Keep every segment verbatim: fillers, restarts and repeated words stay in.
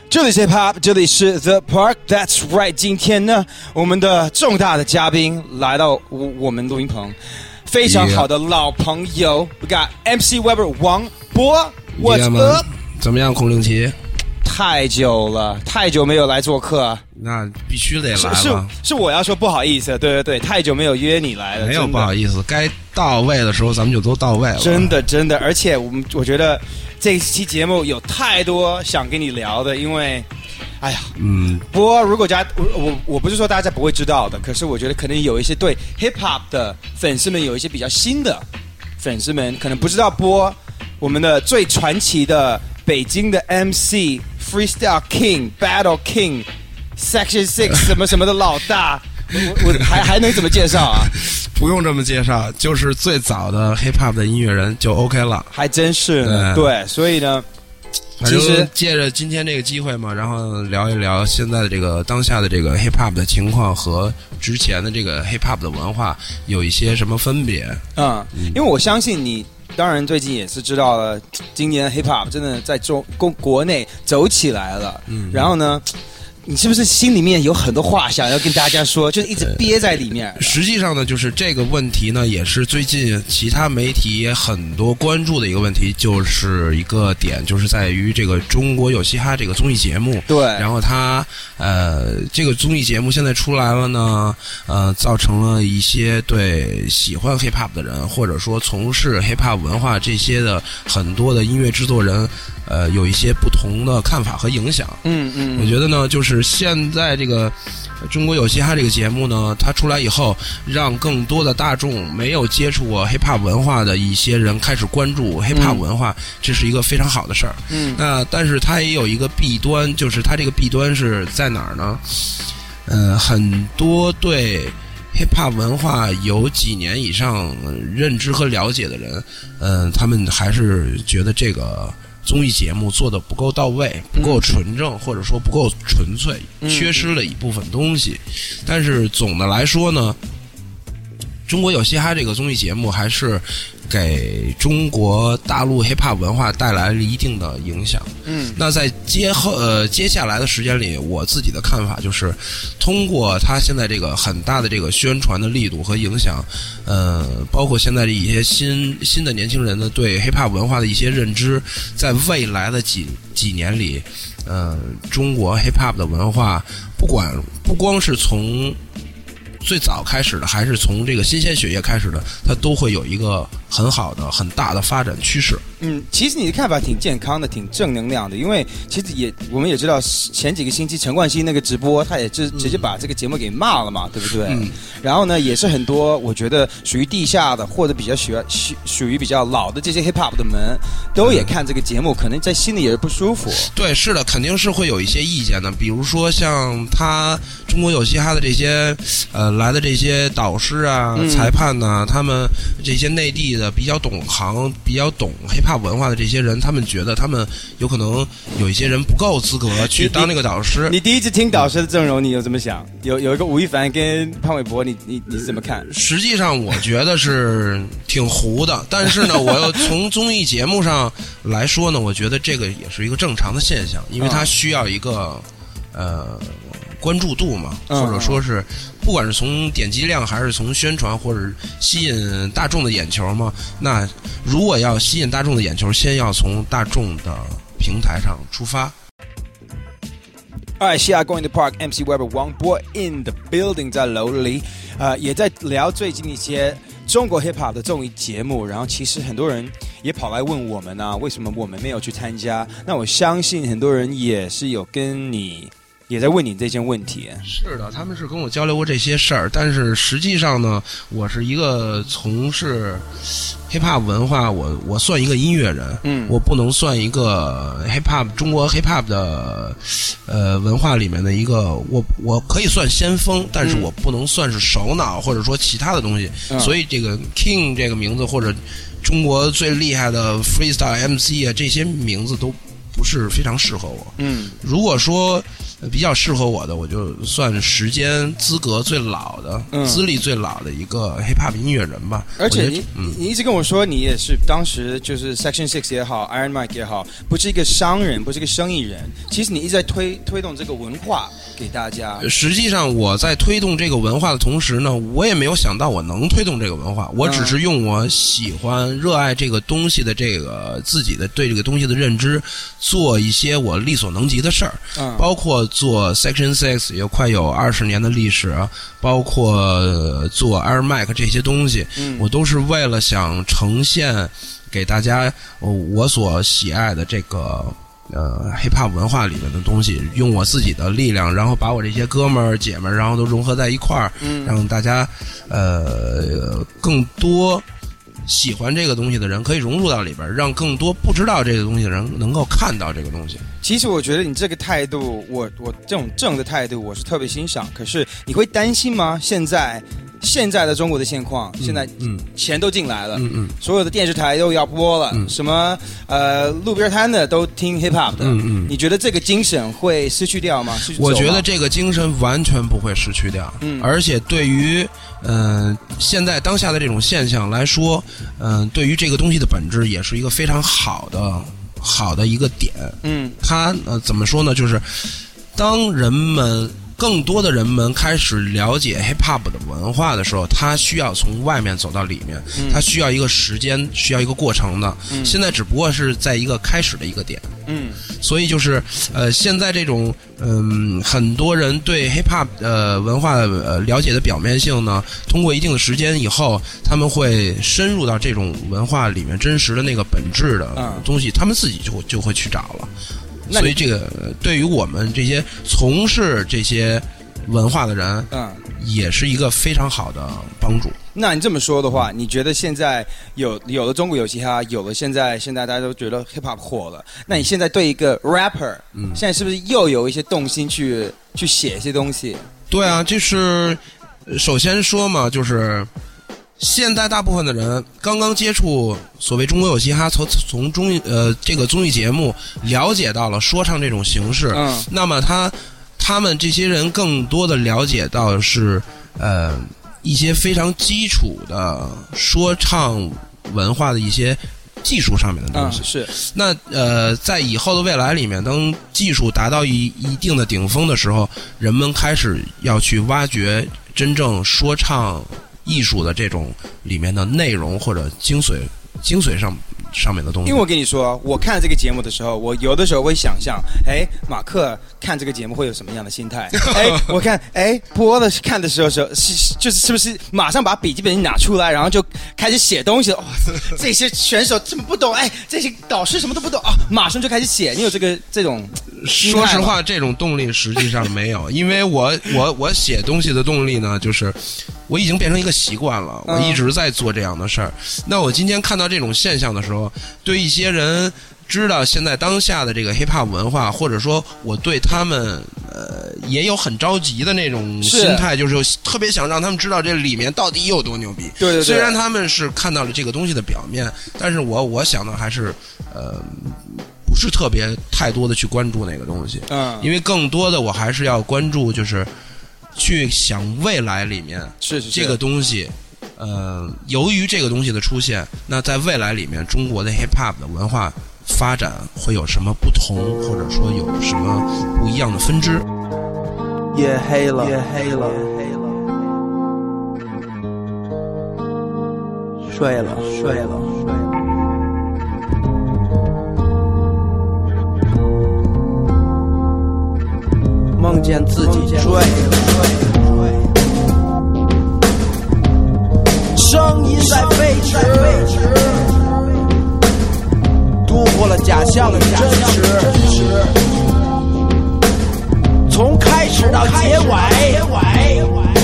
这里是 Hip Hop， 这里是 The Park。 That's right， 今天呢，我们的重大的嘉宾来到我我们录音棚，非常好的老朋友 ，We got M C Weber 王博 ，What's up？ 怎么样，孔令奇？ 太久了，太久没有来做客， 那必须得来了。 是 是, 是我要说不好意思，对对对，太久没有约你来了， 没有不好意思，该到位的时候咱们就都到位了。 真的真的，而且我们我觉得这一期节目有太多想跟你聊的，因为。哎呀，嗯，不过如果大家我我我不是说大家不会知道的，可是我觉得可能有一些对 hip hop 的粉丝们有一些比较新的粉丝们可能不知道播我们的最传奇的北京的 M C Freestyle King Battle King Section Six 什么什么的老大，我我还还能怎么介绍啊？ 不用这么介绍，就是最早的 hip hop 的音乐人就 OK 了， 还真是呢，对，对，所以呢。 其实借着今天这个机会嘛，然后聊一聊现在的这个当下的这个 hip hop 的情况和之前的这个 hip hop 的文化有一些什么分别。 嗯，因为我相信你当然最近也是知道了，今年 hip hop 真的在中国国内走起来了。嗯，然后呢，你是不是心里面有很多话想要跟大家说，就是一直憋在里面？ 实际上呢，就是这个问题呢，也是最近其他媒体也很多关注的一个问题，就是一个点，就是在于这个中国有嘻哈这个综艺节目。 对。 然后它呃，这个综艺节目现在出来了呢，呃，造成了一些对喜欢 hip hop 的人，或者说从事 hip hop 文化这些的很多的音乐制作人，呃，有一些不同的看法和影响。 嗯嗯。 我觉得呢，就是。现在这个中国有嘻哈这个节目呢，它出来以后，让更多的大众没有接触过 hip hop 文化的一些人开始关注 hip hop 文化，嗯、这是一个非常好的事儿。嗯，那但是它也有一个弊端，就是它这个弊端是在哪儿呢？呃，很多对 hip hop 文化有几年以上认知和了解的人，嗯、呃，他们还是觉得这个。综艺节目做的不够到位，不够纯正，嗯、或者说不够纯粹，缺失了一部分东西。嗯、但是总的来说呢，中国有嘻哈这个综艺节目还是给中国大陆 hip hop 文化带来了一定的影响。嗯，那在接后呃接下来的时间里，我自己的看法就是，通过他现在这个很大的这个宣传的力度和影响，呃，包括现在的一些新新的年轻人的对 hip hop 文化的一些认知，在未来的几几年里，呃，中国 hip hop 的文化，不管不光是从最早开始的，还是从这个新鲜血液开始的，它都会有一个很好的、很大的发展趋势。 嗯，其实你的看法挺健康的，挺正能量的。因为其实也我们也知道，前几个星期陈冠希那个直播，他也直直接把这个节目给骂了嘛，嗯、对不对？嗯。然后呢，也是很多我觉得属于地下的或者比较喜欢属属于比较老的这些 hip hop 的们，都也看这个节目，可能在心里也是不舒服。 对，是的，肯定是会有一些意见的。比如说像他中国有嘻哈的这些呃来的这些导师啊、嗯、裁判呐、啊，他们这些内地的比较懂行、比较懂 hip hop文化的这些人，他们觉得他们有可能有一些人不够资格去当那个导师。 你, 你, 你第一次听导师的阵容，你有怎么想？有有一个吴亦凡跟潘玮柏，你你你怎么看？ 实际上我觉得是挺糊的，但是呢，我又从综艺节目上来说呢，我觉得这个也是一个正常的现象，因为它需要一个呃关注度嘛，或者说是不管是从点击量还是从宣传或者吸引大众的眼球嘛，那如果要吸引大众的眼球，先要从大众的平台上出发。 Alright, Shia going to park. M C Weber 王博 in the building 在楼里，呃，也在聊最近一些中国 hip hop 的综艺节目。然后其实很多人也跑来问我们啊，为什么我们没有去参加？那我相信很多人也是有跟你。也在问你这件问题。 是的，他们是跟我交流过这些事儿，但是实际上呢，我是一个从事 hip hop 文化，我我算一个音乐人，嗯，我不能算一个 hip hop 中国 hip hop 的呃文化里面的一个，我我可以算先锋，但是我不能算是首脑或者说其他的东西，嗯、所以这个 King 这个名字或者中国最厉害的 freestyle M C 啊，这些名字都不是非常适合我。嗯，如果说比较适合我的，我就算时间资格最老的、嗯、资历最老的一个 hiphop 音乐人吧。 而且你、嗯、你一直跟我说，你也是当时就是 Section Six 也好 ，Iron Mike 也好，不是一个商人，不是一个生意人。其实你一直在推推动这个文化给大家。 实际上我在推动这个文化的同时呢，我也没有想到我能推动这个文化，我只是用我喜欢、热爱这个东西的这个自己的对这个东西的认知，做一些我力所能及的事儿，嗯、包括做 Section Six 也快有二十年的历史，包括做 Air Mike 这些东西，嗯、我都是为了想呈现给大家我所喜爱的这个。呃 hiphop 文化里面的东西，用我自己的力量，然后把我这些哥们儿姐们儿，然后都融合在一块儿，嗯，让大家呃更多喜欢这个东西的人可以融入到里边，让更多不知道这个东西的人能够看到这个东西。 其实我觉得你这个态度，我我这种正的态度，我是特别欣赏。可是你会担心吗？现在现在的中国的现况，现在钱都进来了，嗯嗯，所有的电视台都要播了，嗯、什么呃路边摊的都听 hip hop 的，嗯嗯，你觉得这个精神会失去掉吗？失去我觉得这个精神完全不会失去掉，嗯，而且对于呃现在当下的这种现象来说，嗯、呃，对于这个东西的本质也是一个非常好的好的一个点，嗯，它呃怎么说呢？就是当人们。更多的人们开始了解 hip-hop 的文化的时候，他需要从外面走到里面，嗯、他需要一个时间，需要一个过程的。嗯、现在只不过是在一个开始的一个点。嗯，所以就是呃，现在这种嗯、呃，很多人对 hip-hop 呃文化呃了解的表面性呢，通过一定的时间以后，他们会深入到这种文化里面真实的那个本质的东西，嗯、他们自己就就会去找了。所以这个对于我们这些从事这些文化的人，嗯，也是一个非常好的帮助。 那你这么说的话，你觉得现在有有了中国有嘻哈，有了现在现在大家都觉得 hip hop 火了，那你现在对一个 rapper，嗯，现在是不是又有一些动心去去写一些东西？ 对啊，就是首先说嘛，就是现在大部分的人刚刚接触所谓中国有嘻哈，从从综艺呃这个综艺节目了解到了说唱这种形式，嗯，那么他他们这些人更多的了解到的是呃一些非常基础的说唱文化的一些技术上面的东西， 嗯、是。 那呃，在以后的未来里面，当技术达到一一定的顶峰的时候，人们开始要去挖掘真正说唱艺术的这种里面的内容或者精髓精髓上上面的东西。 因为我跟你说，我看这个节目的时候，我有的时候会想象，哎，马克看这个节目会有什么样的心态？哎，我看，哎，播的看的时候时候是就是是不是马上把笔记本拿出来，然后就开始写东西？哇、哦，这些选手这么不懂，哎，这些导师什么都不懂啊、哦，马上就开始写。你有这个这种？ 说实话，这种动力实际上没有，因为我我我写东西的动力呢，就是我已经变成一个习惯了，我一直在做这样的事儿。嗯、那我今天看到这种现象的时候，对一些人知道现在当下的这个 hiphop 文化，或者说我对他们呃也有很着急的那种心态，就是特别想让他们知道这里面到底有多牛逼。 对对对。 虽然他们是看到了这个东西的表面，但是我我想的还是呃。不是特别太多的去关注那个东西，嗯，因为更多的我还是要关注，就是去想未来里面是是这个东西，呃，由于这个东西的出现，那在未来里面中国的 hip hop 的文化发展会有什么不同，或者说有什么不一样的分支？ 夜黑了，夜黑了，睡了，睡了，睡了。梦见自己追，声音在飞驰，突破了假象的真实，从开始到结尾，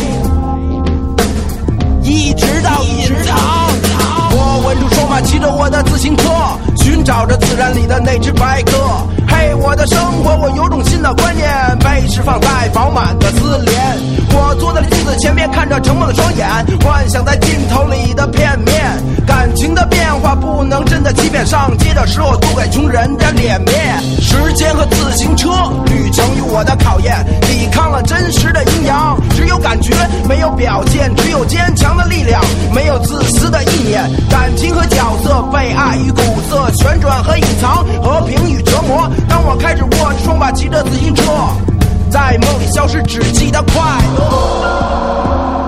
一直到隐藏。我稳住双马，骑着我的自行车，寻找着自然里的那只白鸽。嘿，我的生活，我有种新的观念，被释放在饱满的自怜。我做的例子子前面看着沉默的双眼，幻想在镜头里的片面，感情的变化不能真的欺骗，上街的时候都给穷人的脸面。时间和自行车旅程与我的考验，抵抗了真实的阴阳，只有感觉没有表现，只有坚强的力量，没有自私的意念。感情和角色，被爱与苦涩，旋转和隐藏，和平与折磨。当我开始握着双把骑着自行车，在梦里消失，只记得快乐。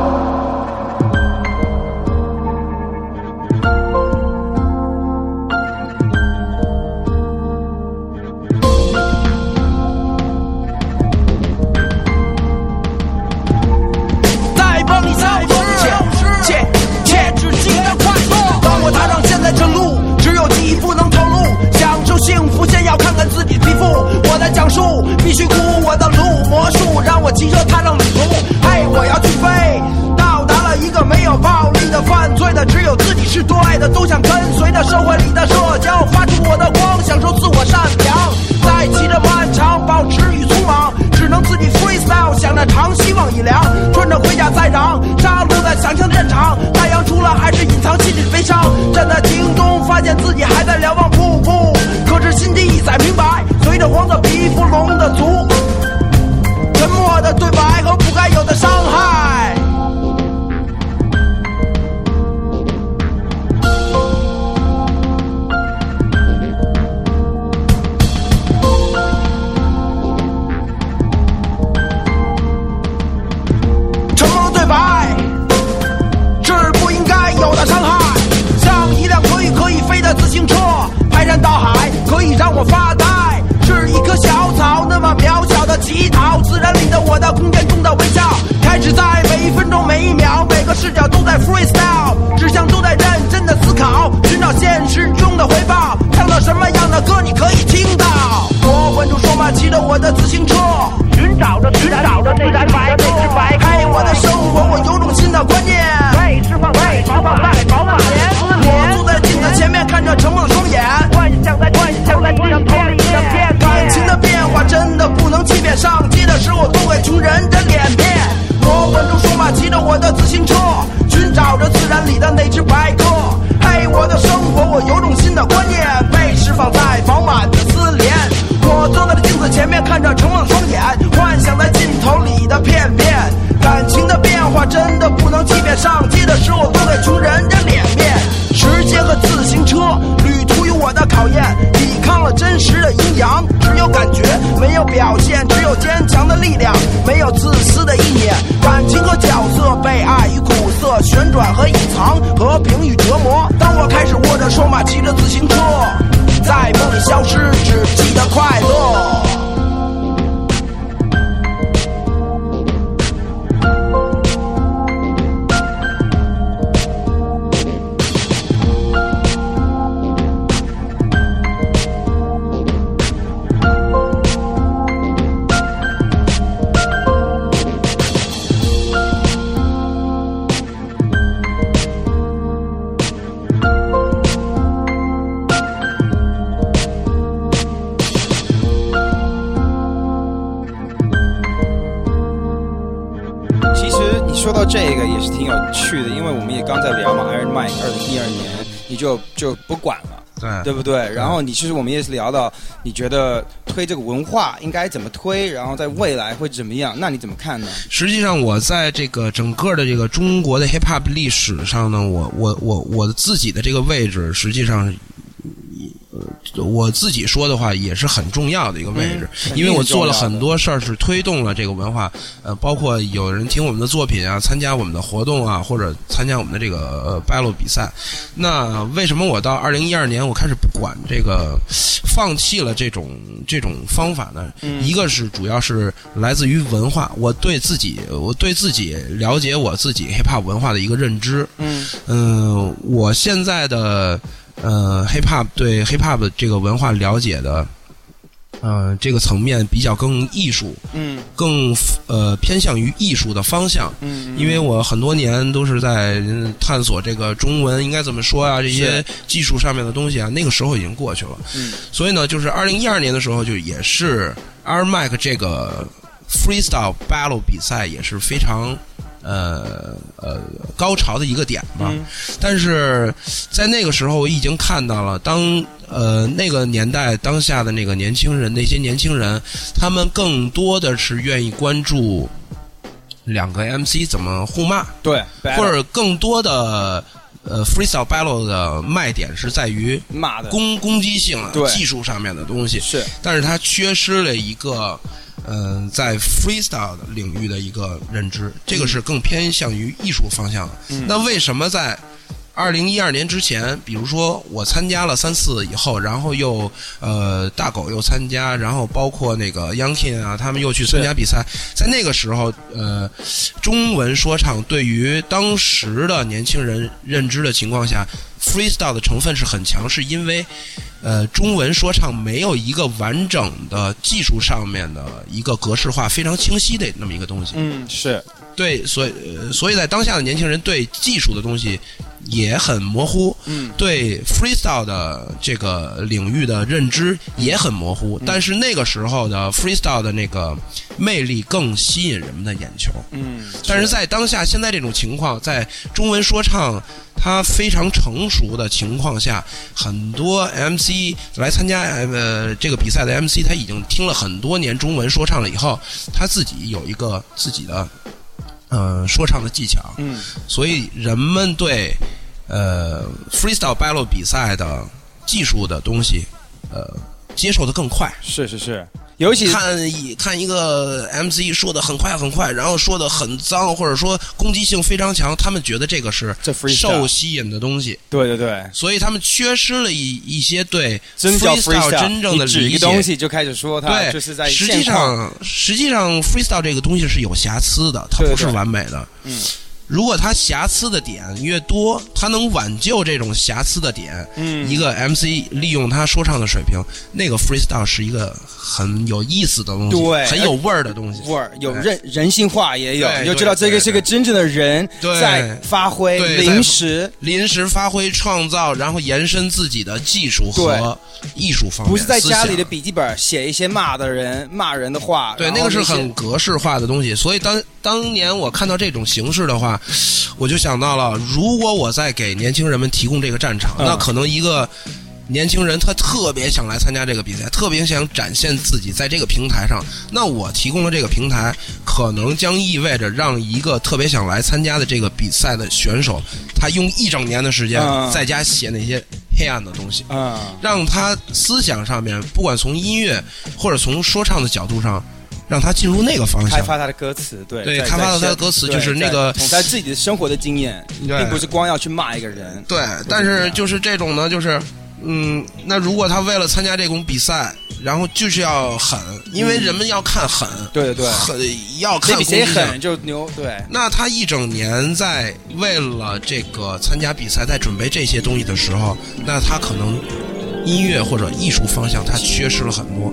讲述必须哭，我的路魔术让我骑车踏上旅途。嘿，我要去飞，到达了一个没有暴力的犯罪的，只有自己是对的，都想跟随着社会里的社交，发出我的光，享受自我善良。在骑着漫长，保持与匆忙，只能自己 freestyle， 想着长，希望已凉，穿着盔甲在嚷，杀戮在想象战场。太阳出了还是隐藏心里悲伤，站在庭中发现自己还在瞭望瀑布，可是心底已在明白，随着黄色皮肤龙的族，沉默的对白和不该有的伤害。沉默的对白是不应该有的伤害，像一辆可以可以飞的自行车，排山倒海可以让我发呆，是一棵小草那么渺小的乞讨，自然里的我的空间中的微笑，开始在每一分钟每一秒每个视角都在 freestyle， 指向都在认真的思考，寻找现实中的回报，唱到什么样的歌你可以听到。我稳住双马骑着我的自行车，寻找着寻找着内在白内之白，嘿，我的生活我有种新的观念，被释放在释放在饱满年。我坐在镜子前面看着沉默的双眼，幻想在幻想在地上投了一张片，感情的变化真的不能欺骗，上街的时候都给穷人的脸面。我稳住双马骑着我的自行车，寻找着自然里的那只白鸽，嘿，我的生活我有种新的观念，被释放在饱满的丝连。我坐在镜子前面看着沉默的双眼，幻想在镜头里的片面，感情的变化真的不能欺骗，上街的时候都给穷人的脸面。时间和自行车旅途有我的考验，抵抗了真实的阴阳，只有感觉没有表现，只有坚强的力量，没有自私的意念。感情和角色，被爱与苦涩，旋转和隐藏，和平与折磨。当我开始握着双马骑着自行车，在梦里消失，只记得快乐。 说到这个也是挺有趣的，因为我们也刚在聊嘛 Iron Mike 二零一二年你就就不管了， 对对不对？然后你其实我们也是聊到，你觉得推这个文化应该怎么推，然后在未来会怎么样？那你怎么看呢？ 实际上，我在这个整个的这个中国的 hip hop 历史上呢，我我我我自己的这个位置，实际上。我自己说的话也是很重要的一个位置，嗯、因为我做了很多事儿，是推动了这个文化。呃，包括有人听我们的作品啊，参加我们的活动啊，或者参加我们的这个呃 battle 比赛。那为什么我到二零一二年我开始不管这个，放弃了这种这种方法呢？嗯、一个是主要是来自于文化，我对自己我对自己了解我自己 hip hop 文化的一个认知。嗯嗯、呃，我现在的。呃 ，hip hop 对 hip hop 这个文化了解的，呃，这个层面比较更艺术，嗯，更呃偏向于艺术的方向，嗯，因为我很多年都是在探索这个中文应该怎么说啊，这些技术上面的东西啊，那个时候已经过去了，嗯，所以呢，就是二零一二年的时候，就也是 Iron Mike 这个 freestyle battle 比赛也是非常。 呃呃高潮的一个点吧。 嗯、 但是在那个时候，我已经看到了当呃那个年代当下的那个年轻人，那些年轻人，他们更多的是愿意关注两个 M C 怎么互骂， 对， 或者更多的。呃 ，freestyle battle 的卖点是在于骂的攻攻击性、技术上面的东西， 是， 但是它缺失了一个，嗯、呃，在 freestyle 的领域的一个认知，这个是更偏向于艺术方向的。 嗯、 那为什么在二零一二年之前，比如说我参加了三次以后，然后又呃大狗又参加，然后包括那个 Young King 啊，他们又去参加比赛，在那个时候，呃，中文说唱对于当时的年轻人认知的情况下 ，freestyle 的成分是很强，是因为呃中文说唱没有一个完整的技术上面的一个格式化非常清晰的那么一个东西。 嗯，是对，所以、呃、所以在当下的年轻人对技术的东西也很模糊， 嗯， 对 freestyle 的这个领域的认知也很模糊，嗯、但是那个时候的 freestyle 的那个魅力更吸引人们的眼球， 嗯， 但是在当下现在这种情况，在中文说唱它非常成熟的情况下，很多 M C 来参加呃这个比赛的 M C， 他已经听了很多年中文说唱了以后，他自己有一个自己的呃说唱的技巧， 嗯， 所以人们对呃 freestyle battle 比赛的技术的东西呃接受的更快， 是是是。尤其看一看一个 M C 说的很快很快，然后说的很脏，或者说攻击性非常强，他们觉得这个是受吸引的东西。 对对对， 所以他们缺失了一一些对 freestyle 真正的理解。 你指一个东西就开始说它就是在实际上实际上 freestyle 这个东西是有瑕疵的，它不是完美的。 对对嗯。 如果它瑕疵的点越多，它能挽救这种瑕疵的点， 嗯， 一个 M C 利用他说唱的水平，那个 freestyle 是一个很有意思的东西， 对， 很有味儿的东西， 味儿有人人性化也有，你就知道这个是个真正的人在发挥，临时临时发挥创造，然后延伸自己的技术和艺术方面， 不是在家里的笔记本写一些骂的人骂人的话， 对，那个是很格式化的东西。所以当当年我看到这种形式的话，我就想到了，如果我在给年轻人们提供这个战场， 嗯、 那可能一个年轻人他特别想来参加这个比赛，特别想展现自己在这个平台上，那我提供的这个平台可能将意味着让一个特别想来参加的这个比赛的选手，他用一整年的时间在家写那些黑暗的东西， 嗯， 让他思想上面不管从音乐或者从说唱的角度上，让他进入那个方向， 开发他的歌词，对对，开发到他的歌词，就是那个从他自己的生活的经验，并不是光要去骂一个人。 对，但是就是这种呢，就是嗯，那如果他为了参加这种比赛，然后就是要狠，因为人们要看狠， 嗯、对对对， 狠要看比谁狠就牛，对。 那他一整年在为了这个参加比赛，在准备这些东西的时候，那他可能音乐或者艺术方向他缺失了很多。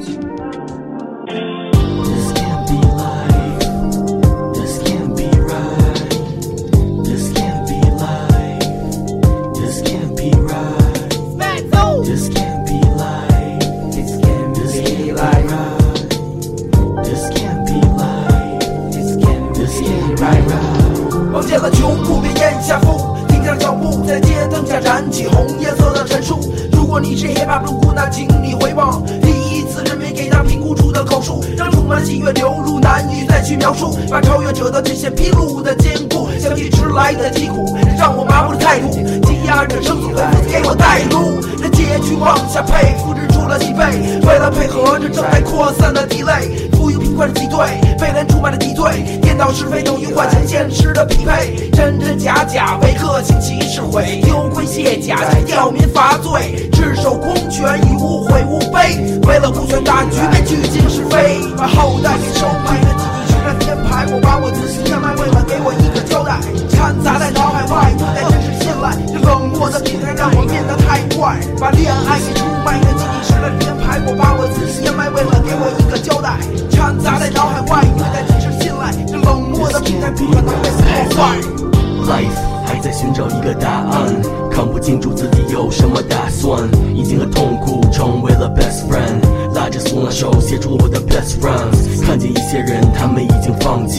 望见了穷苦别咽下腹，停下脚步，在街灯下燃起红颜色的陈述。如果你是 hiphop 路那请你回望第一次人民给他评估出的口述，让充满喜悦流入，难以再去描述，把超越者的界限披露的坚固，相继迟来的疾苦，让我麻木的态度，积压着生死，给我带路。这结局往下配，复制出了几倍，为了配合着正在扩散的地雷，富有贫困的敌对，被人出卖的敌对，颠倒是非等于换成现实的匹配，真真假假为个性其实毁，丢盔卸甲吊民罚罪，赤手空拳以无悔无悲，为了顾全大局被拒尽是非，把后代给收买了自己是那天牌，我把我自己变卖，为了给我一个交代，掺杂在脑海外，对待真实信赖，这冷漠的平台让我变得太怪，把恋爱给出卖了自己是那天牌，我把我自己变卖，为了给我一个交代，掺杂在脑海外，对待真实信赖，这冷漠的平台不可能被破坏。 Life 还在寻找一个答案，看不清楚自己有什么打算，已经和痛苦成为了 best friend， 拉着苏拉手写出我的 best friends， 看见一些人他们已经放弃，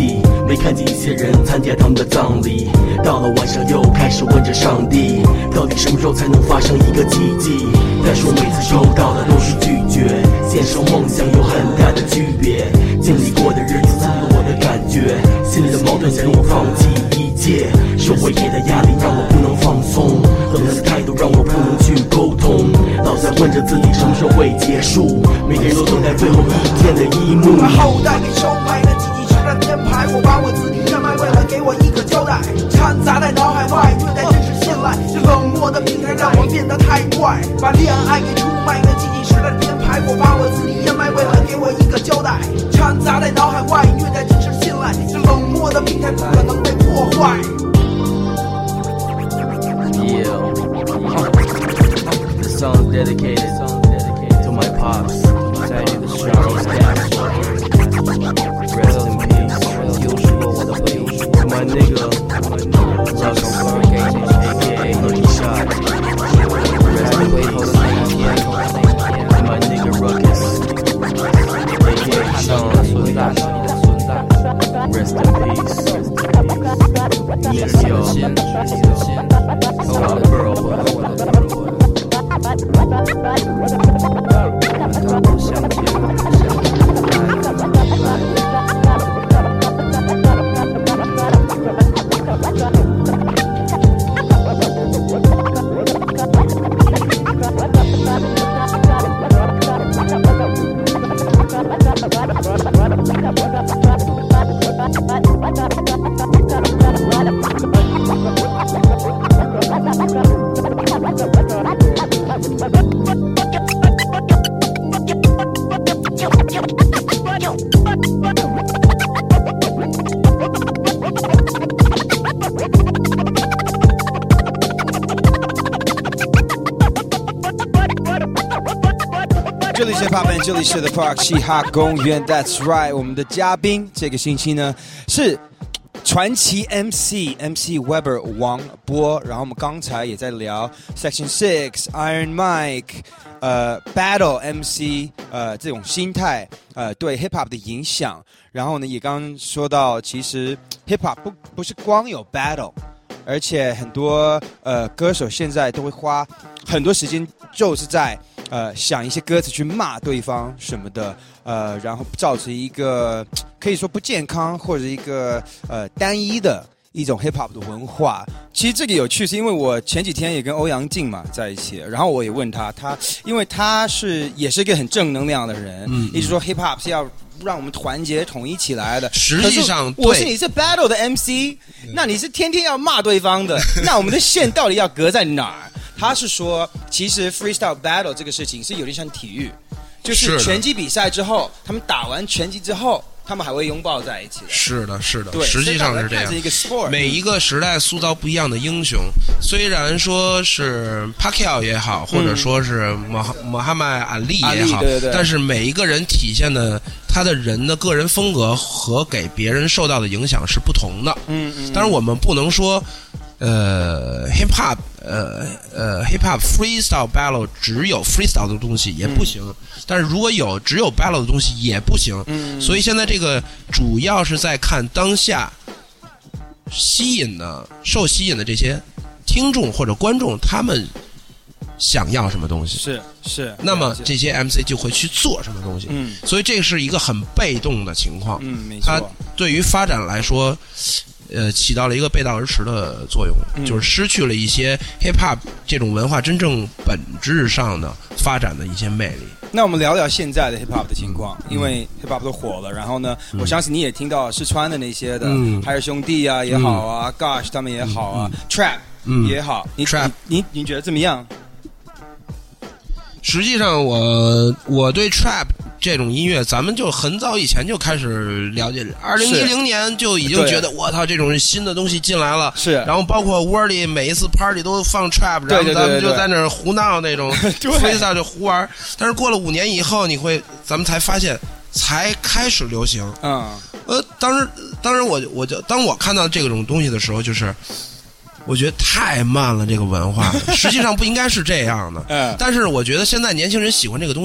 没看见一些人参加他们的葬礼。到了晚上又开始问着上帝，到底什么时候才能发生一个奇迹？他说每次收到的都是拒绝，现实和梦想有很大的区别。经历过的日子刺激了我的感觉，心里的矛盾想让我放弃一切，社会给的压力让我不能放松，冷淡的态度让我不能去沟通，老在问着自己什么时候会结束，每个人都等待最后一天的一幕。 把后代给收买了，积极实战编排，我把我自己变卖，为了给我一个交代，掺杂在脑海外，虐待真实信赖，这冷漠的平台让我变得太怪，把恋爱给出卖了，积极实战编排，我把我自己变卖，为了给我一个交代，掺杂在脑海外，虐待真实信赖，这冷漠的平台不可能被破坏。 Yeah, this song's dedicated to my pops, Charles Dash. Rest in peace, 又是我的回忆。To my nigga, Ruckus, aka Lucky Shot. Rest in peace, to my nigga Ruckus, aka Sean. Rest in peace. Yes, yo. Oh, the girl, what the girl. 这里是 Pop， 这里是 The Park 嘻哈公园 ，That's right。我们的嘉宾这个星期呢是传奇 M C M C Weber 王波，然后我们刚才也在聊 Section Six、Iron Mike， 呃 Battle M C， 呃这种心态，呃对 Hip Hop 的影响。然后呢，也刚刚说到，其实 Hip Hop 不不是光有 Battle， 而且很多呃歌手现在都会花很多时间，就是在呃想一些歌词去骂对方什么的，呃，然后造成一个可以说不健康或者一个呃单一的一种 hip hop 的文化。其实这个有趣，是因为我前几天也跟欧阳靖嘛在一起，然后我也问他，他因为他是也是一个很正能量的人，嗯，一直说 hip hop 是要让我们团结统一起来的。 实际上， 我是你是 battle 的 M C， 那你是天天要骂对方的，那我们的线到底要隔在哪儿？他是说，其实 freestyle battle 这个事情是有点像体育，就是拳击比赛之后，他们打完拳击之后，他们还会拥抱在一起的。 是的，是的， 对， 实际上是这样。 一个 sport， 每一个时代塑造不一样的英雄，虽然说是 Pacquiao 也好，或者说是穆哈穆罕默阿里也好， 对对对， 但是每一个人体现的他的人的个人风格和给别人受到的影响是不同的。 嗯嗯。 当然，我们不能说。呃 ，hip hop， 呃呃 ，hip hop freestyle battle 只有 freestyle 的东西也不行，嗯、但是如果有只有 battle 的东西也不行。嗯，所以现在这个主要是在看当下吸引的、受吸引的这些听众或者观众，他们想要什么东西。 是是。 那么这些 M C 就会去做什么东西。嗯，所以这是一个很被动的情况。 嗯，没错。 它对于发展来说。呃，起到了一个背道而驰的作用，嗯、就是失去了一些 hip hop 这种文化真正本质上的发展的一些魅力。 那我们聊聊现在的 hip hop 的情况，嗯、因为 hip hop 都火了，然后呢，嗯、我相信你也听到四川的那些的，嗯、海尔兄弟啊也好啊、嗯、，Gosh 他们也好啊、嗯、，Trap 也好，你 Trap 你你觉得怎么样？ 实际上我，我我对 Trap 这种音乐，咱们就很早以前就开始了解，二零一零年就已经觉得我操，这种新的东西进来了。 是， 然后包括 Worley 每一次 party 都放 Trap， 然后咱们就在那儿胡闹那种 freestyle 就胡玩。但是过了五年以后，你会咱们才发现，才开始流行。 嗯， 呃，当时当时我我就当我看到这种东西的时候，就是。我觉得太慢了，这个文化实际上不应该是这样的。嗯，但是我觉得现在年轻人喜欢这个东西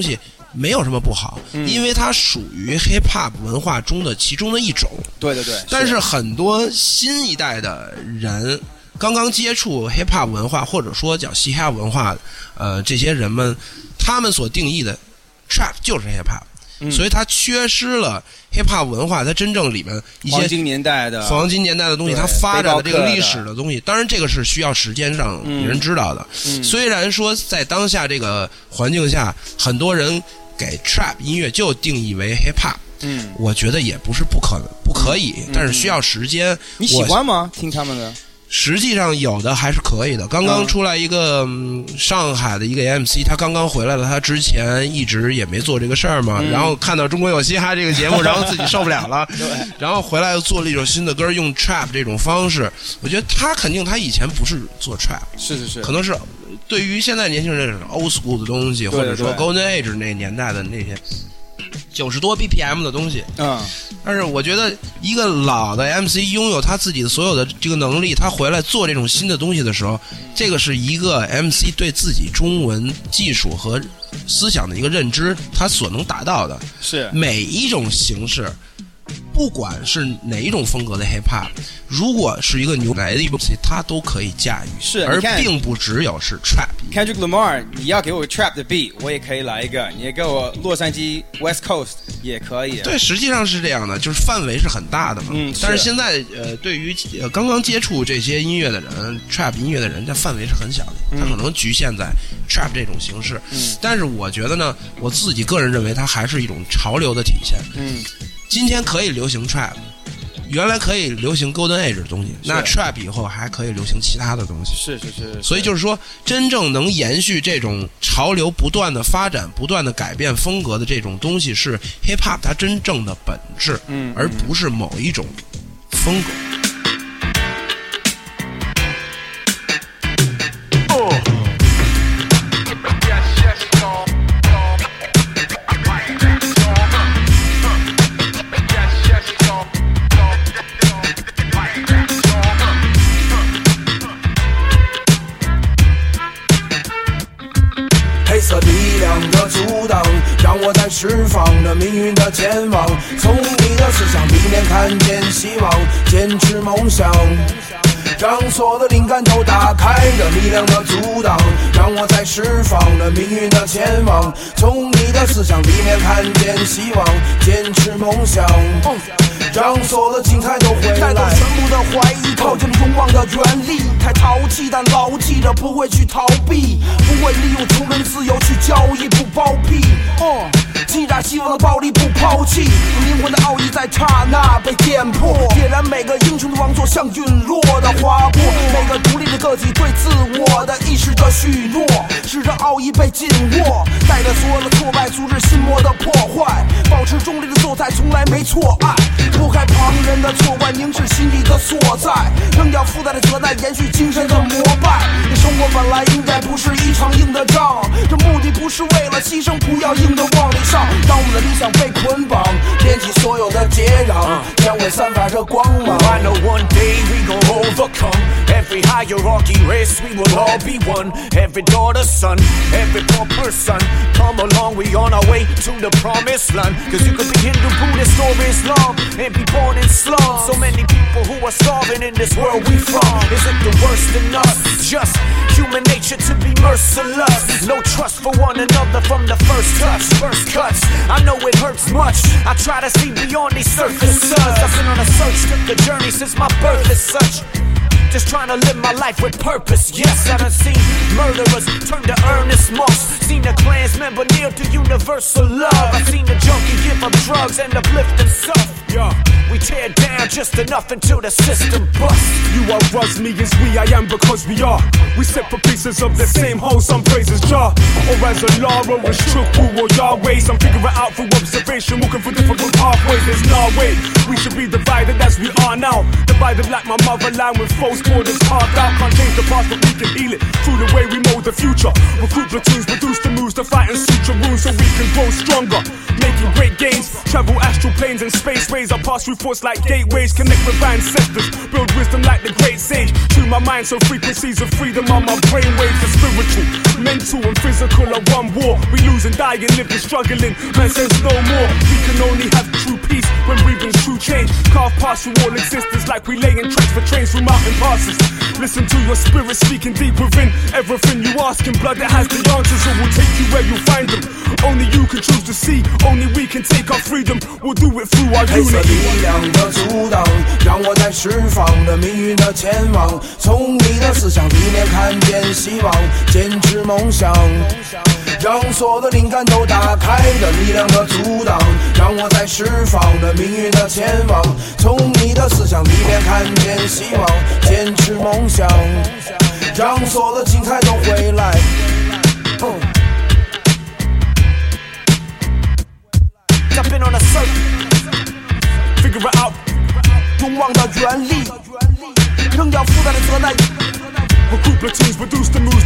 没有什么不好， 嗯、 因为它属于 hip hop 文化中的其中的一种。 对对对。 但是很多新一代的人刚刚接触 hip hop 文化，或者说叫嘻哈文化，呃，这些人们他们所定义的 trap 就是 hip hop。嗯、所以它缺失了 hiphop 文化，它真正里面一些黄金年代的黄金年代的东西，它发展的这个历史的东西，当然这个是需要时间让人知道的。嗯嗯、虽然说在当下这个环境下，很多人给 trap 音乐就定义为 hiphop，嗯，我觉得也不是不可能不可以，嗯、但是需要时间。 你喜欢吗？听他们的？ 实际上有的还是可以的。刚刚出来一个、嗯、上海的一个 M C， 他刚刚回来了，他之前一直也没做这个事儿嘛、嗯、然后看到中国有嘻哈这个节目，然后自己受不了了然后回来又做了一首新的歌，用 trap 这种方式。我觉得他肯定他以前不是做 trap， 是是是， 可能是对于现在年轻人 old school 的东西，或者说 golden age 那年代的那些九十多 B P M 的东西，嗯，但是我觉得一个老的 M C 拥有他自己的所有的这个能力，他回来做这种新的东西的时候，这个是一个 M C 对自己中文技术和思想的一个认知，他所能达到的。 是每一种形式，不管是哪一种风格的 hip hop， 如果是一个牛来的一部戏，他都可以驾驭， 是， 而并不只有是 trap。Kendrick Lamar， 你要给我 trap 的 beat， 我也可以来一个；你也给我洛杉矶 West Coast 也可以。 对，实际上是这样的，就是范围是很大的嘛。嗯，但是现在呃，对于呃刚刚接触这些音乐的人 ，trap 音乐的人，这范围是很小的，他可能局限在 trap 这种形式。嗯，但是我觉得呢，我自己个人认为，它还是一种潮流的体现。嗯。今天可以流行 trap， 原来可以流行 golden age 的东西，那 trap 以后还可以流行其他的东西。 是是 是, 是。 所以就是说，真正能延续这种潮流不断的发展、不断的改变风格的这种东西，是 hip hop 它真正的本质，嗯，而不是某一种风格。 让我在释放着命运的健忘，从你的思想里面看见希望，坚持梦想，让所有的灵感都打开着力量的阻挡，让我在释放着命运的前往，从你的思想里面看见希望，坚持梦想，让所有的精彩都回来，带走全部的怀疑，靠近勇往的原力，太淘气但牢记着不会去逃避，不会利用穷人自由去交易，不包庇，哦，击炸希望的暴力不抛弃，灵魂的奥义在刹那被点破，点燃每个英雄的王座像陨落的划过，每个独立的个体对自我的意识的许诺，使这奥义被紧握，带着所有的挫败阻止心魔的破坏，保持中立的姿态从来没错爱，拨开旁人的错怪，凝视心底的所在，扔掉附带的责难，延续精神的膜拜，这生活本来应该不是一场硬的仗，这目的不是为了牺牲，不要硬的往里上，当我们的理想被捆绑，连起所有的接壤，将会散发着光芒。 I know one day we gon' overcome every hierarchy race, we will all be one, every daughter, son, every poor person, come along, we on our way to the promised land, cause you could be Hindu, Buddhist or Islam and be born in slums, so many people who are starving in this world we from, is it the worst in us, just human nature to be merciless, no trust for one another from the first touch, first cuts, I know it hurts much, I try to see beyond these surfaces, I've been on a search, took a journey since my birth as such, just trying to live my life with purpose. Yes, I done seen murderers turn to earnest monks, seen a Klans member kneel to universal love, I seen a junkie give up drugs and uplift himself. Yeah, we tear down just enough until the system busts. You are us, me is we, I am because we are. We separate pieces of the same whole, some praises jar. Or as a law, or as true, or Yahweh's. I'm figuring out through observation, walking through different pathways. There's no way. We should be divided as we are now. Divided like my motherland with false borders carved out. Can't change the past, but we can heal it through the way we mold the future. Recruit platoons, reduce the moves to fight and suture wounds so we can grow stronger. Making great gains, travel astral planes and space ways. I pass through thoughts like gateways, connect with our ancestors, build wisdom like the great sage. Tune my mind so frequencies of freedom on my brainwaves. The spiritual, mental and physical are one war. We losing, dying, living, struggling. Man says no more. We can only have true peace when breathing true change. Carve past through all existence like we laying tracks for trains through mountain passes. Listen to your spirit speaking deep within. Everything you ask in blood that has the answers, it will take you where you find them. Only you can choose to see, only we can take our freedom. We'll do it through our 黑色 unity. 力量的阻挡，让我在释放着命运的前往。从你的思想里面看见希望，坚持梦想，让所有的灵感都打开的力量的阻挡，让我在释放着命运的前往。从你的思想里面看见希望，坚持梦想，让所有的精彩都回来。嗯 I've been on a circuit, figure it out. 勇往的原力，仍要负担的责难。 Recruit platoons, reduce the moves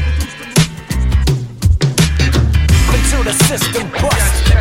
Until the system busts.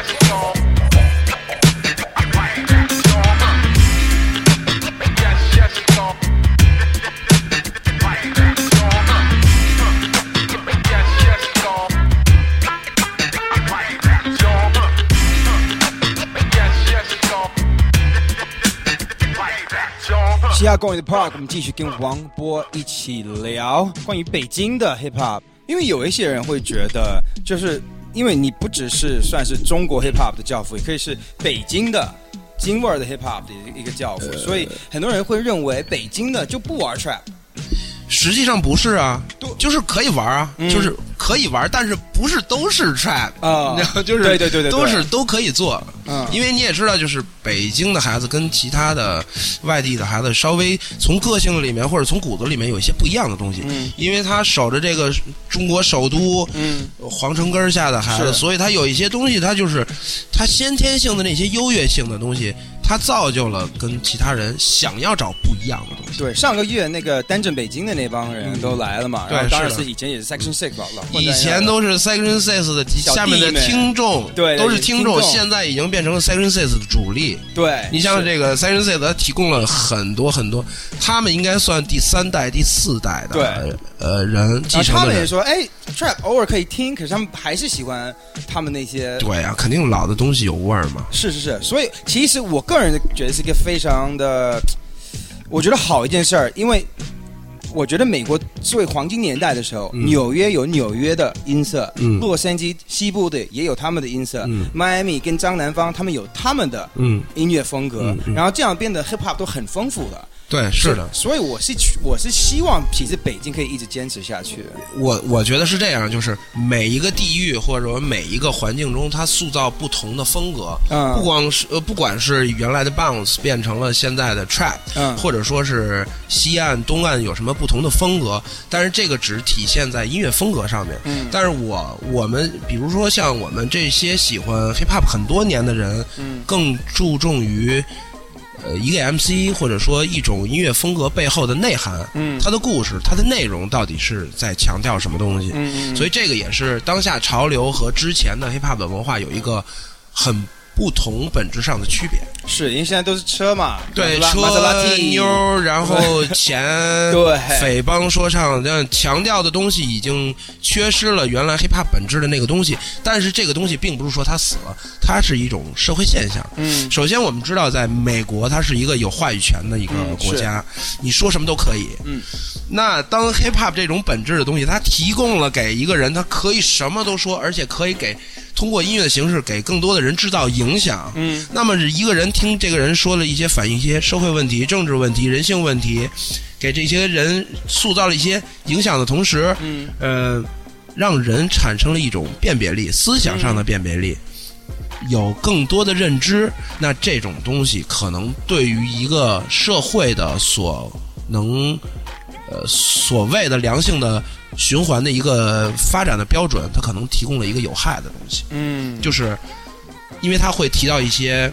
西亚公园的 Park， 我们继续跟王波一起聊关于北京的 Hip Hop， 因为有一些人会觉得，就是因为你不只是算是中国 Hip Hop 的教父，也可以是北京的京味儿的 Hip Hop 的一个教父，呃、所以很多人会认为北京的就不玩 Trap。 实际上不是啊，就是可以玩啊，嗯、就是可以玩，但是不是都是 trap 啊， 就是对对对对， 都是都可以做。 嗯， 因为你也知道，就是北京的孩子跟其他的外地的孩子稍微从个性里面或者从骨子里面有一些不一样的东西。 嗯， 因为他守着这个中国首都， 嗯， 皇城根下的孩子，所以他有一些东西，他就是他先天性的那些优越性的东西。他造就了跟其他人想要找不一样的东西。 对，上个月那个单镇北京的那帮人都来了嘛， 嗯、然后当然是以前也是 Section Six 吧， 以前都是 Section Six 的下面的听众， 对， 都是听众，现在已经变成了 Section Six 的主力。 对， 你像这个 Section Six， 它提供了很多很多，他们应该算第三代、第四代的对呃人继承的人。 他们也说，哎 ，Trap 偶尔可以听，可是他们还是喜欢他们那些。 对啊，肯定老的东西有味儿嘛。 是是是，所以其实我个人觉得是一个非常的，我觉得好一件事儿，因为我觉得美国作为黄金年代的时候，嗯、纽约有纽约的音色，嗯、洛杉矶西部的也有他们的音色，嗯、迈阿密跟张南方他们有他们的音乐风格， 嗯嗯、 然后这样变得 hip hop 都很丰富的。 对，是的， 所以我是我是希望其实北京可以一直坚持下去。 我我觉得是这样，就是每一个地域或者每一个环境中，它塑造不同的风格。嗯，不光是呃，不管是原来的 bounce 变成了现在的 trap， 嗯，或者说是西岸、东岸有什么不同的风格，但是这个只体现在音乐风格上面。嗯，但是我我们比如说像我们这些喜欢 hip hop 很多年的人，嗯，更注重于。呃，一个 M C 或者说一种音乐风格背后的内涵，嗯，它的故事，它的内容到底是在强调什么东西？嗯嗯，所以这个也是当下潮流和之前的 hip hop 的文化有一个很不同本质上的区别。 是因为现在都是车嘛， 对，车妞，然后钱， 对， 匪帮说唱，这样强调的东西已经缺失了原来 hiphop 本质的那个东西。但是这个东西并不是说它死了，它是一种社会现象。嗯，首先我们知道，在美国，它是一个有话语权的一个国家，嗯、你说什么都可以。嗯，那当 hiphop 这种本质的东西，它提供了给一个人，他可以什么都说，而且可以给通过音乐的形式给更多的人制造影响。嗯，那么一个人听这个人说了一些反映一些社会问题、政治问题、人性问题，给这些人塑造了一些影响的同时，嗯，呃，让人产生了一种辨别力，思想上的辨别力，嗯、有更多的认知。那这种东西可能对于一个社会的所能，呃，所谓的良性的循环的一个发展的标准，它可能提供了一个有害的东西。嗯，就是因为它会提到一些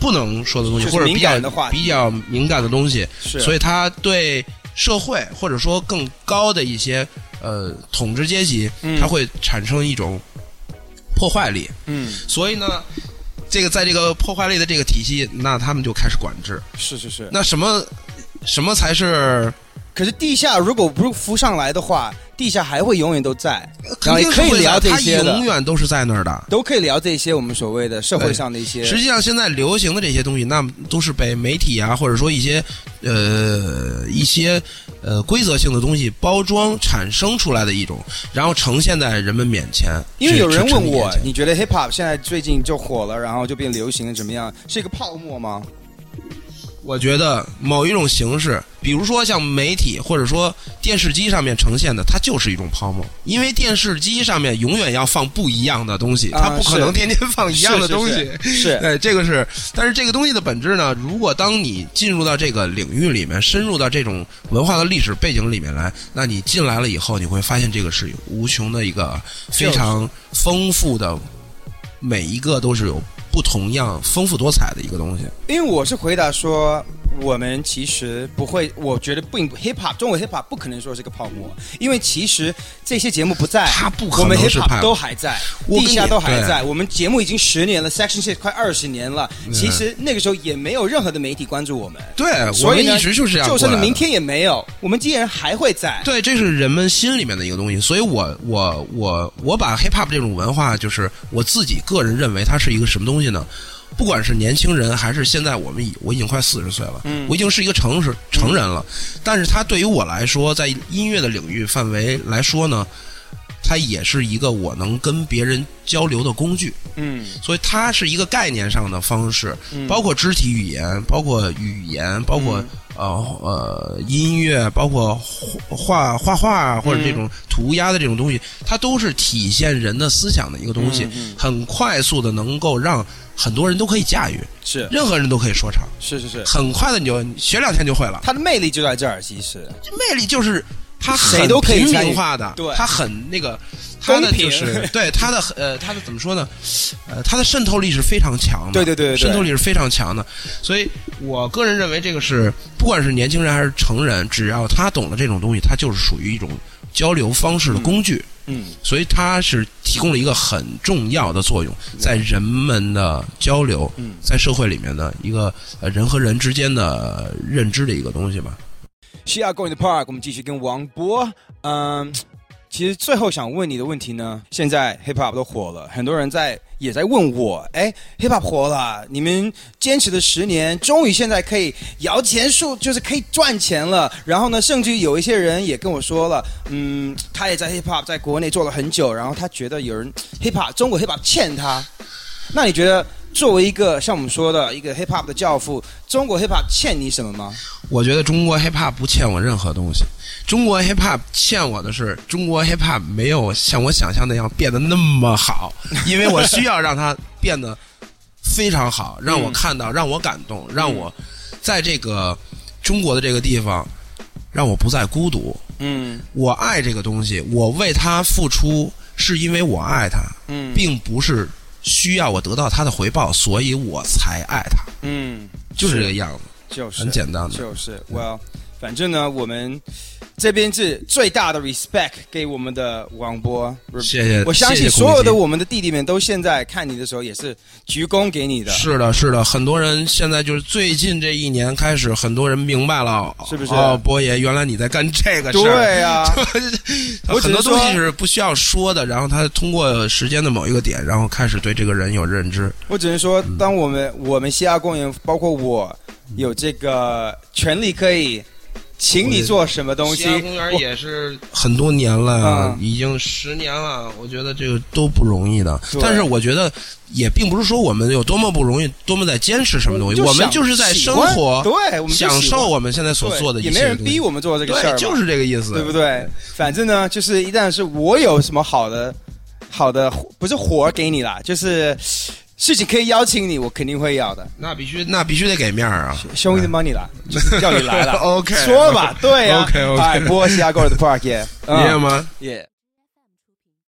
不能说的东西， 就是或者比较敏感的话题比较敏感的东西， 是所以他对社会或者说更高的一些呃统治阶级， 嗯它会产生一种破坏力。 嗯， 所以呢，这个在这个破坏力的这个体系，那他们就开始管制。 是是是。 那什么什么才是？ 可是地下如果不浮上来的话，地下还会永远都在，然后肯定是会也可以聊在它这些的， 永远都是在那儿的。 都可以聊这些我们所谓的社会上的一些。 实际上，现在流行的这些东西，那都是被媒体啊，或者说一些呃一些呃规则性的东西包装产生出来的一种，然后呈现在人们面前。 因为有人问我， 你你觉得 hip hop 现在最近就火了，然后就变流行了，怎么样？是一个泡沫吗？ 我觉得某一种形式，比如说像媒体或者说电视机上面呈现的，它就是一种泡沫。因为电视机上面永远要放不一样的东西， 啊、 它不可能天天放一样的东西。 是，是是是对，这个是。但是这个东西的本质呢，如果当你进入到这个领域里面，深入到这种文化的历史背景里面来，那你进来了以后，你会发现这个是无穷的一个非常丰富的，每一个都是有不同样丰富多彩的一个东西。 因为我是回答说，我们其实不会，我觉得不 hip hop 中国 hip hop 不可能说是个泡沫，因为其实这些节目不在， 它不可能我们是 hip hop 都还在，地下都还在， 对我们节目已经十年了 ，Section Six 快二十年了，其实那个时候也没有任何的媒体关注我们， 对， 所以我们一直就是这样过来的， 就算是明天也没有，我们依然还会在。 对，这是人们心里面的一个东西，所以我我我我把 hip hop 这种文化，就是我自己个人认为它是一个什么东西呢？不管是年轻人还是现在我们已我已经快四十岁了， 嗯， 我已经是一个成是成人了，嗯，但是它对于我来说，在音乐的领域范围来说呢，它也是一个我能跟别人交流的工具， 嗯， 所以它是一个概念上的方式， 嗯， 包括肢体语言，包括语言，包括，嗯呃呃，音乐，包括画画画或者这种涂鸦的这种东西，它都是体现人的思想的一个东西， 嗯嗯， 很快速的能够让很多人都可以驾驭， 是任何人都可以说唱， 是是是， 很快的你就学两天就会了。 它的魅力就在这儿，其实魅力就是它谁都可以平民化的， 对， 它很那个。它的就是对它的呃，它的怎么说呢？呃，它的渗透力是非常强的， 对对 对, 对, 对， 渗透力是非常强的。所以我个人认为，这个是不管是年轻人还是成人，只要他懂得这种东西，它就是属于一种交流方式的工具。 嗯， 所以它是提供了一个很重要的作用，在人们的交流， 嗯， 在社会里面的一个呃人和人之间的认知的一个东西吧。 西亚 Go in the Park， 我们继续跟王波，嗯。其实最后想问你的问题呢，现在 hip hop 都火了，很多人在也在问我，哎 ，hip hop 火了，你们坚持了十年，终于现在可以摇钱树，就是可以赚钱了。然后呢，甚至有一些人也跟我说了，嗯，他也在 hip hop 在国内做了很久，然后他觉得有人 hip hop 中国 hip hop 欠他。那你觉得作为一个像我们说的一个 hip hop 的教父，中国 hip hop 欠你什么吗？ 我觉得中国 hip hop 不欠我任何东西。中国 hip hop 欠我的是，中国 hip hop 没有像我想象那样变得那么好，因为我需要让它变得非常好，让我看到，让我感动，让我在这个中国的这个地方，让我不再孤独。 嗯， 我爱这个东西，我为它付出，是因为我爱它， 嗯， 并不是需要我得到它的回报，所以我才爱它。 嗯， 就是这个样子， 就是很简单的， 就是 well。反正呢，我们这边是最大的 respect 给我们的王波， 谢谢。 我相信所有的我们的弟弟们都现在看你的时候也是鞠躬给你的。 是的，是的，很多人现在就是最近这一年开始，很多人明白了， 是不是？ 哦，波爷，原来你在干这个事儿。 对呀、啊， 很多东西是不需要说的，然后他通过时间的某一个点，然后开始对这个人有认知。 我只能说，当我们、嗯、我们西亚公园，包括我，有这个权利可以。请你做什么东西？ 西安公园也是很多年了、嗯，已经十年了。我觉得这个都不容易的。但是我觉得也并不是说我们有多么不容易，多么在坚持什么东西。我们就是在生活， 对，我们享受我们现在所做的一切。 也没人逼我们做这个事儿， 就是这个意思， 对不对？反正呢，就是一旦是我有什么好的、好的，不是活给你啦，就是。事情可以邀请你，我肯定会要的。 那必须，那必须得给面啊 ！Show me the money 啦，就是叫你来了。 OK， 说吧，对呀、啊。 OK OK。 哎，波西亚 Go to the Park， 耶吗？ 耶。